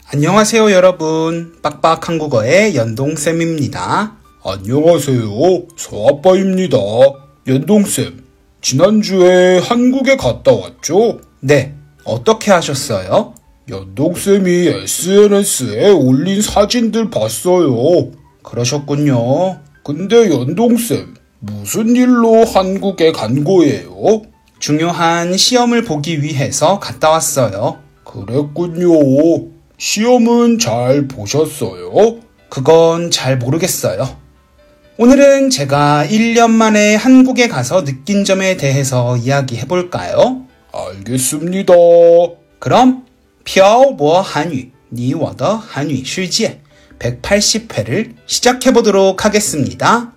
안녕하세요 여러분. 빡빡 한국어의 연동쌤입니다. 안녕하세요. 서아빠입니다. 연동쌤, 지난주에 한국에 갔다 왔죠? 네, 어떻게 하셨어요? 연동쌤이 SNS에 올린 사진들 봤어요. 그러셨군요. 근데 연동쌤, 무슨 일로 한국에 간 거예요? 중요한 시험을 보기 위해서 갔다 왔어요. 그랬군요. 시험은 잘 보셨어요? 그건 잘 모르겠어요. 오늘은 제가 1년 만에 한국에 가서 느낀 점에 대해서 이야기해 볼까요? 알겠습니다. 그럼 漂泊韩语你我的韩语世界 180회를 시작해 보도록 하겠습니다.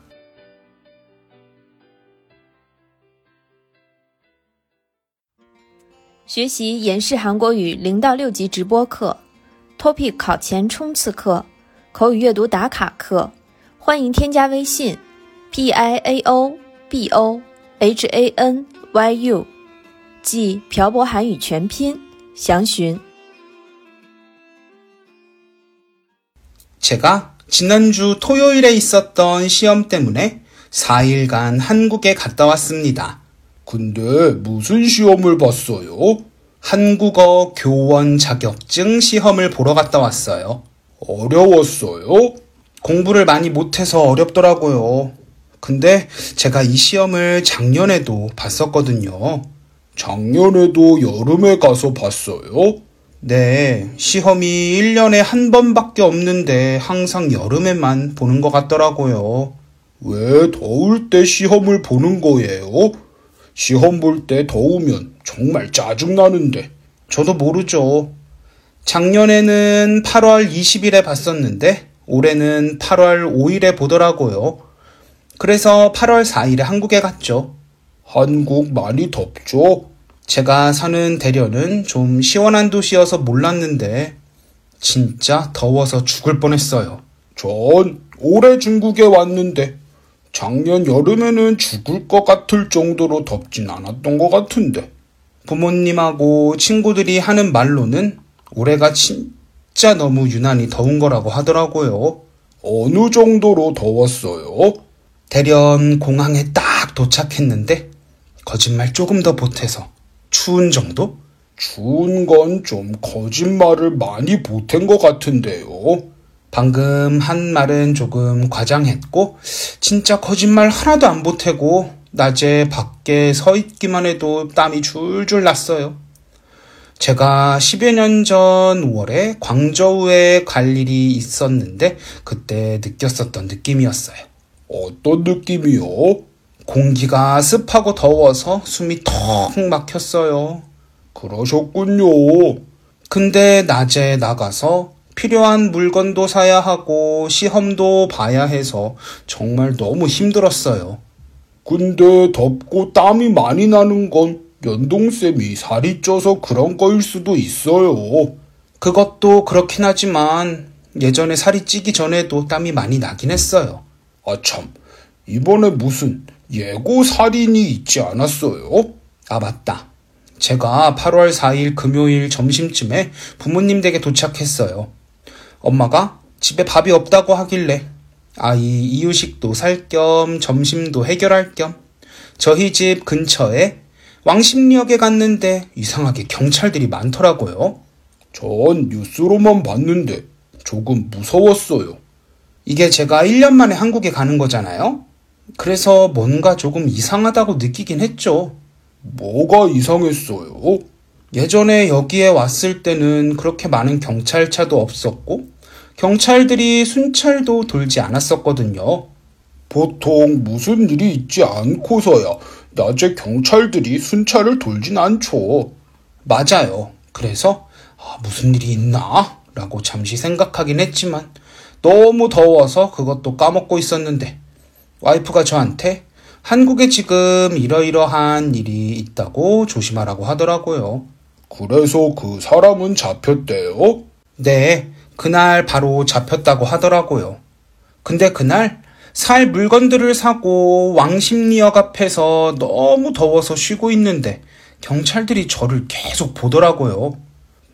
学习延世韩国语0到6级直播课 ，Topic 考前冲刺课，口语阅读打卡课，欢迎添加微信 PIAOBOHANYU， 即漂泊韩语全拼，详询。 제가 지난주 토요일에 있었던 시험 때문에 4일간 한국에 갔다 왔습니다. 근데 무슨 시험을 봤어요? 한국어 교원 자격증 시험을 보러 갔다 왔어요. 어려웠어요? 공부를 많이 못해서 어렵더라고요. 근데 제가 이 시험을 작년에도 봤었거든요. 작년에도 여름에 가서 봤어요? 네, 시험이 1년에 한 번밖에 없는데 항상 여름에만 보는 것 같더라고요. 왜 더울 때 시험을 보는 거예요? 시험 볼 때 더우면 정말 짜증나는데. 저도 모르죠. 작년에는 8월 20일에 봤었는데 올해는 8월 5일에 보더라고요. 그래서 8월 4일에 한국에 갔죠. 한국 많이 덥죠? 제가 사는 대련은 좀 시원한 도시여서 몰랐는데 진짜 더워서 죽을 뻔했어요. 전 올해 중국에 왔는데 작년 여름에는 죽을 것 같을 정도로 덥진 않았던 것 같은데. 부모님하고 친구들이 하는 말로는 올해가 진짜 너무 유난히 더운 거라고 하더라고요. 어느 정도로 더웠어요? 대련 공항에 딱 도착했는데 거짓말 조금 더 보태서 추운 정도? 추운 건 좀 거짓말을 많이 보탠 것 같은데요. 방금 한 말은 조금 과장했고 진짜 거짓말 하나도 안 보태고 낮에 밖에 서 있기만 해도 땀이 줄줄 났어요. 제가 10여 년 전 5월에 광저우에 갈 일이 있었는데 그때 느꼈었던 느낌이었어요. 어떤 느낌이요? 공기가 습하고 더워서 숨이 턱 막혔어요. 그러셨군요. 근데 낮에 나가서 필요한 물건도 사야 하고 시험도 봐야 해서 정말 너무 힘들었어요. 근데 덥고 땀이 많이 나는 건 연동쌤이 살이 쪄서 그런 거일 수도 있어요. 그것도 그렇긴 하지만 예전에 살이 찌기 전에도 땀이 많이 나긴 했어요. 아 참, 이번에 무슨 예고 살인이 있지 않았어요? 아 맞다. 제가 8월 4일 금요일 점심쯤에 부모님 댁에 도착했어요. 엄마가 집에 밥이 없다고 하길래 아이 이유식도 살 겸 점심도 해결할 겸 저희 집 근처에 왕십리역에 갔는데 이상하게 경찰들이 많더라고요. 전 뉴스로만 봤는데 조금 무서웠어요. 이게 제가 1년 만에 한국에 가는 거잖아요. 그래서 뭔가 조금 이상하다고 느끼긴 했죠. 뭐가 이상했어요? 예전에 여기에 왔을 때는 그렇게 많은 경찰차도 없었고 경찰들이 순찰도 돌지 않았었거든요. 보통 무슨 일이 있지 않고서야 낮에 경찰들이 순찰을 돌진 않죠. 맞아요. 그래서 무슨 일이 있나? 라고 잠시 생각하긴 했지만 너무 더워서 그것도 까먹고 있었는데 와이프가 저한테 한국에 지금 이러이러한 일이 있다고 조심하라고 하더라고요. 그래서 그 사람은 잡혔대요? 네, 그날 바로 잡혔다고 하더라고요. 근데 그날 살 물건들을 사고 왕십리역 앞에서 너무 더워서 쉬고 있는데 경찰들이 저를 계속 보더라고요.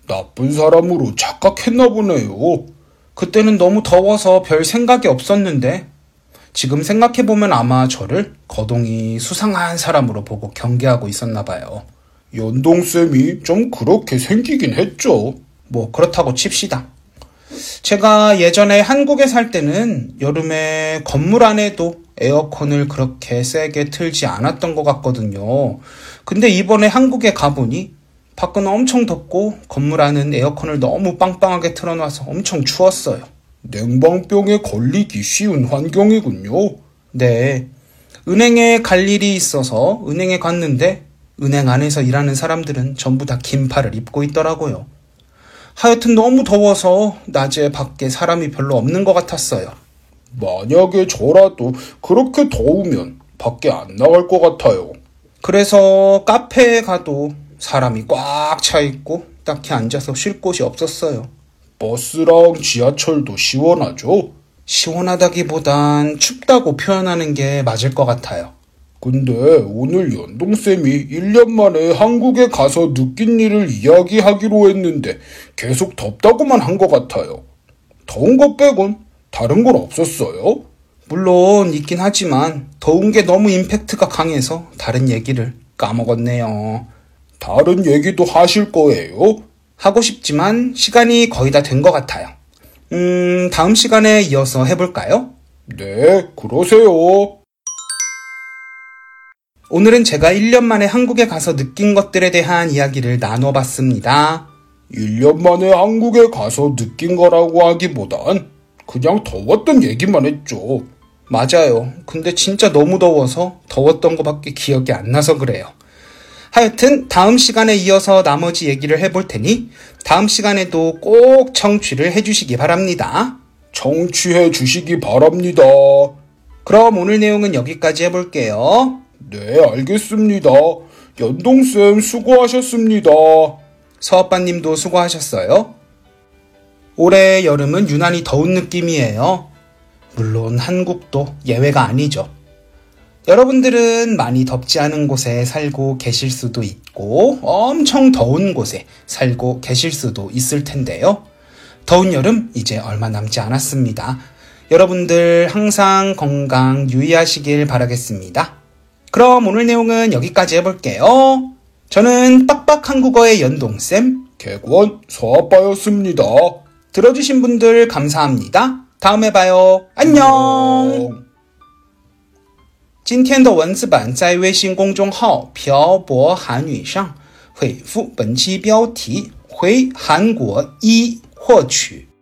나쁜 사람으로 착각했나 보네요. 그때는 너무 더워서 별 생각이 없었는데 지금 생각해보면 아마 저를 거동이 수상한 사람으로 보고 경계하고 있었나 봐요. 연동쌤이 좀 그렇게 생기긴 했죠. 뭐 그렇다고 칩시다. 제가 예전에 한국에 살 때는 여름에 건물 안에도 에어컨을 그렇게 세게 틀지 않았던 것 같거든요. 근데 이번에 한국에 가보니 밖은 엄청 덥고 건물 안은 에어컨을 너무 빵빵하게 틀어놔서 엄청 추웠어요. 냉방병에 걸리기 쉬운 환경이군요. 네. 은행에 갈 일이 있어서 은행에 갔는데 은행 안에서 일하는 사람들은 전부 다 긴팔을 입고 있더라고요. 하여튼 너무 더워서 낮에 밖에 사람이 별로 없는 것 같았어요. 만약에 저라도 그렇게 더우면 밖에 안 나갈 것 같아요. 그래서 카페에 가도 사람이 꽉 차 있고 딱히 앉아서 쉴 곳이 없었어요. 버스랑 지하철도 시원하죠? 시원하다기보단 춥다고 표현하는 게 맞을 것 같아요. 근데 오늘 연동쌤이 1년 만에 한국에 가서 느낀 일을 이야기하기로 했는데 계속 덥다고만 한 것 같아요. 더운 것 빼곤 다른 건 없었어요? 물론 있긴 하지만 더운 게 너무 임팩트가 강해서 다른 얘기를 까먹었네요. 다른 얘기도 하실 거예요? 하고 싶지만 시간이 거의 다 된 것 같아요. 다음 시간에 이어서 해볼까요? 네, 그러세요. 오늘은 제가 1년 만에 한국에 가서 느낀 것들에 대한 이야기를 나눠봤습니다. 1년 만에 한국에 가서 느낀 거라고 하기보단 그냥 더웠던 얘기만 했죠. 맞아요. 근데 진짜 너무 더워서 더웠던 것밖에 기억이 안 나서 그래요. 하여튼 다음 시간에 이어서 나머지 얘기를 해볼 테니 다음 시간에도 꼭 청취를 해주시기 바랍니다. 청취해 주시기 바랍니다. 그럼 오늘 내용은 여기까지 해볼게요. 네, 알겠습니다. 연동쌤 수고하셨습니다. 서아빠님도 수고하셨어요. 올해 여름은 유난히 더운 느낌이에요. 물론 한국도 예외가 아니죠. 여러분들은 많이 덥지 않은 곳에 살고 계실 수도 있고 엄청 더운 곳에 살고 계실 수도 있을 텐데요. 더운 여름 이제 얼마 남지 않았습니다. 여러분들 항상 건강 유의하시길 바라겠습니다. 그럼 오늘 내용은 여기까지 해볼게요. 저는 빡빡 한국어의 연동쌤, 객원 서아빠였습니다. 들어주신 분들 감사합니다. 다음에 봐요. 안녕. 今天的文字版在微信公众号漂泊韩语上回复本期标题回韩国1获取